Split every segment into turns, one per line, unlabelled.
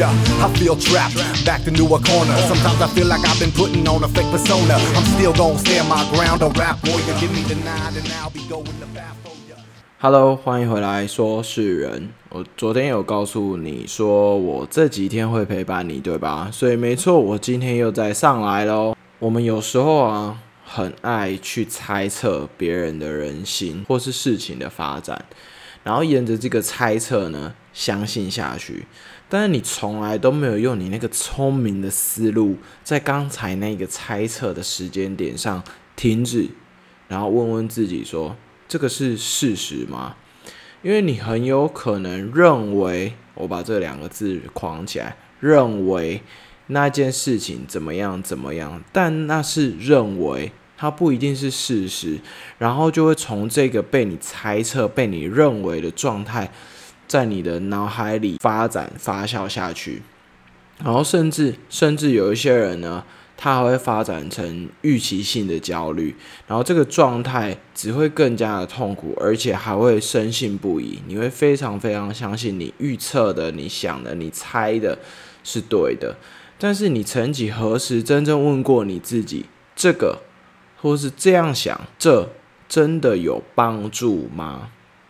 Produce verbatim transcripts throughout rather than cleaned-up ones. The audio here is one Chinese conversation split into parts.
Yeah, I feel trapped, backed into a corner. Sometimes I feel like I've been putting on a fake persona. I'm still gon' stand my ground. Don't rap warrior, give me the nine and I'll be going to bat for ya.
Hello， 欢迎回来说事人。我昨天有告诉你说我这几天会陪伴你，对吧？所以没错，我今天又再上来咯。我们有时候啊，很爱去猜测别人的人心或是事情的发展，然后沿着这个猜测呢，相信下去。但是你从来都没有用你那个聪明的思路，在刚才那个猜测的时间点上停止，然后问问自己说，这个是事实吗？因为你很有可能认为，我把这两个字框起来，认为那件事情怎么样怎么样，但那是认为，它不一定是事实，然后就会从这个被你猜测、被你认为的状态，在你的脑海里发展发酵下去，然后甚至甚至有一些人呢，他还会发展成预期性的焦虑，然后这个状态只会更加的痛苦，而且还会深信不疑。你会非常非常相信你预测的、你想的、你猜的是对的，但是你曾几何时真正问过你自己，这个或是这样想，这真的有帮助吗？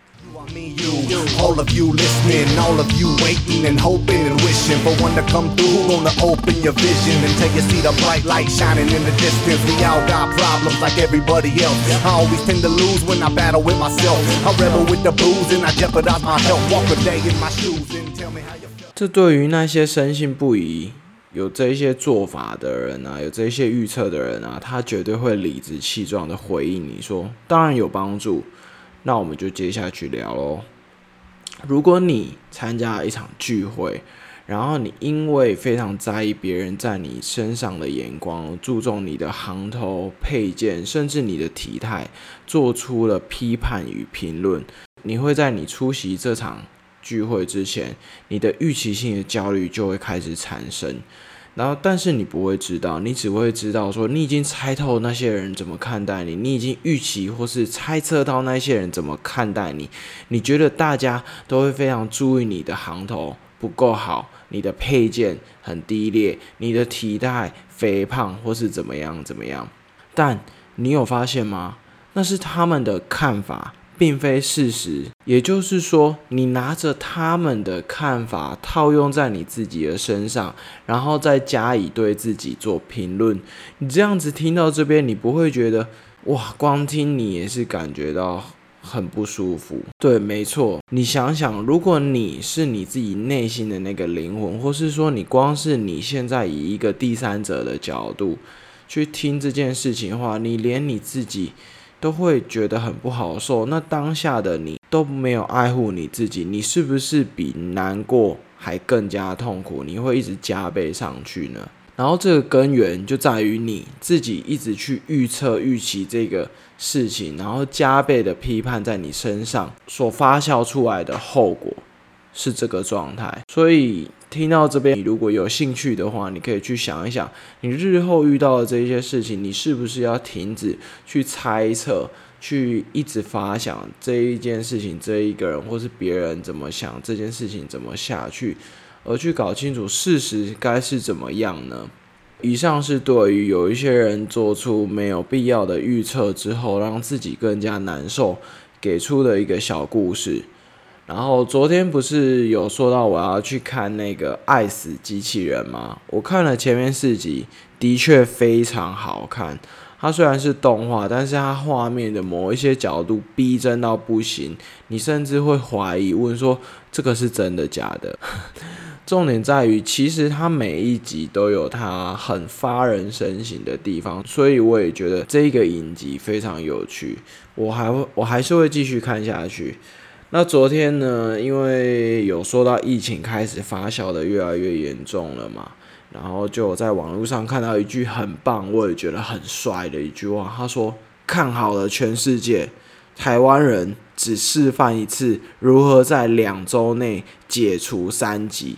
I mean you, all of you listening, all of you waiting and hoping and wishing for one to come through, who gonna open your vision until you see the bright light shining in the distance. We all got problems like everybody else. I always tend to lose when I battle with myself. I rebel with the booze and I jeopardize my health. Walk a day in my shoes and tell me how you feel.
这对于那些深信不疑有这些做法的人啊，有这些预测的人啊，他绝对会理直气壮的回应你说，当然有帮助。那我们就接下去聊咯。如果你参加了一场聚会，然后你因为非常在意别人在你身上的眼光，注重你的行头、配件，甚至你的体态，做出了批判与评论，你会在你出席这场聚会之前，你的预期性的焦虑就会开始产生。然后，但是你不会知道，你只会知道说，你已经猜透那些人怎么看待你，你已经预期或是猜测到那些人怎么看待你。你觉得大家都会非常注意你的行头不够好，你的配件很低劣，你的体态肥胖或是怎么样怎么样。但你有发现吗？那是他们的看法，并非事实。也就是说，你拿着他们的看法套用在你自己的身上，然后再加以对自己做评论。你这样子听到这边，你不会觉得哇，光听你也是感觉到很不舒服。对，没错。你想想，如果你是你自己内心的那个灵魂，或是说你光是你现在以一个第三者的角度去听这件事情的话，你连你自己都会觉得很不好受，那当下的你都没有爱护你自己，你是不是比难过还更加痛苦？你会一直加倍上去呢？然后这个根源就在于你自己一直去预测预期这个事情，然后加倍的批判在你身上所发酵出来的后果是这个状态。所以听到这边，你如果有兴趣的话，你可以去想一想，你日后遇到的这些事情，你是不是要停止去猜测，去一直发想这一件事情，这一个人或是别人怎么想，这件事情怎么下去，而去搞清楚事实该是怎么样呢？以上是对于有一些人做出没有必要的预测之后，让自己更加难受，给出的一个小故事。然后昨天不是有说到我要去看那个《爱死机器人》吗？我看了前面四集，的确非常好看。它虽然是动画，但是它画面的某一些角度逼真到不行，你甚至会怀疑，问说这个是真的假的？重点在于，其实它每一集都有它很发人深省的地方，所以我也觉得这个影集非常有趣，我还会我还是会继续看下去。那昨天呢，因为有说到疫情开始发酵的越来越严重了嘛，然后就在网络上看到一句很棒，我也觉得很帅的一句话，他说：“看好了全世界，台湾人只示范一次如何在两周内解除三级。”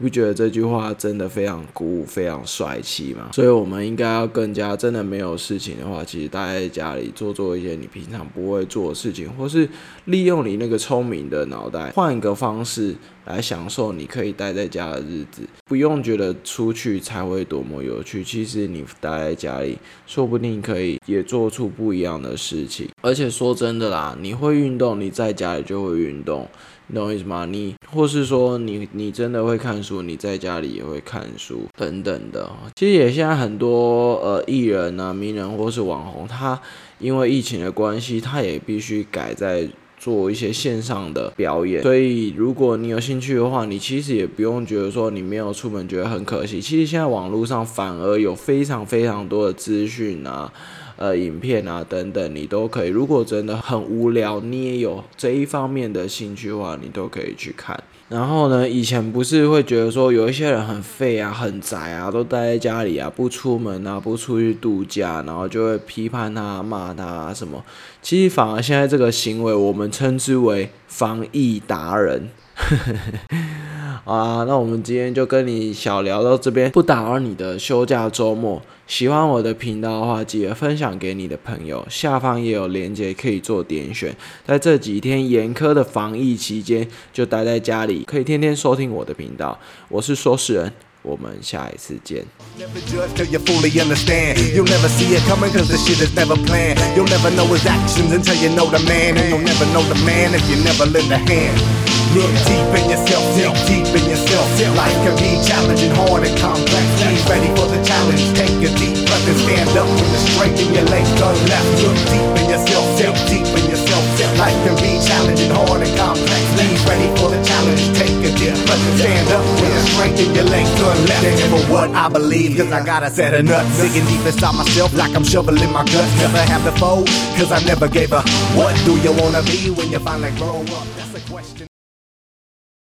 不觉得这句话真的非常鼓舞，非常帅气吗？所以我们应该要更加，真的没有事情的话，其实待在家里做做一些你平常不会做的事情，或是利用你那个聪明的脑袋，换一个方式来享受你可以待在家的日子，不用觉得出去才会多么有趣。其实你待在家里，说不定可以也做出不一样的事情。而且说真的啦，你会运动，你在家里就会运动。你懂我意思吗？你或是说你你真的会看书，你在家里也会看书等等的。其实也现在很多呃艺人啊、名人或是网红，他因为疫情的关系，他也必须改在做一些线上的表演。所以如果你有兴趣的话，你其实也不用觉得说你没有出门觉得很可惜。其实现在网络上反而有非常非常多的资讯啊。呃，影片啊等等，你都可以。如果真的很无聊，你也有这一方面的兴趣的话，你都可以去看。然后呢，以前不是会觉得说有一些人很废啊、很宅啊，都待在家里啊，不出门啊，不出去度假，然后就会批判他、骂他啊什么。其实反而现在这个行为，我们称之为防疫达人。好啊，那我们今天就跟你小聊到这边，不打扰你的休假周末。喜欢我的频道的话，记得分享给你的朋友，下方也有连结可以做点选。在这几天严苛的防疫期间，就待在家里，可以天天收听我的频道。我是说事人，我们下一次见。
Never judge till you fully understand. You'll never see it coming cause the shit is never planned. You'll never know his actions until you know the man. And you'll never know the man if you never lend a hand. Look deep in yourself, dig deep in yourself. Life can be challenging, hard and complex. Be ready for the challenge. Take a deep breath and stand up with the strength in your legs turn left. Look deep in yourself, dig deep in yourself. Life can be challenging, hard and complex. Be ready for the challenge. Take a deep breath and stand up with the strength in your legs turn left. Stand for what I believe, cause I got a set of nuts. Digging deep inside myself like I'm shoveling my guts. Never have to fold, cause I never gave a what do you wanna be when you finally grow up? That's a question.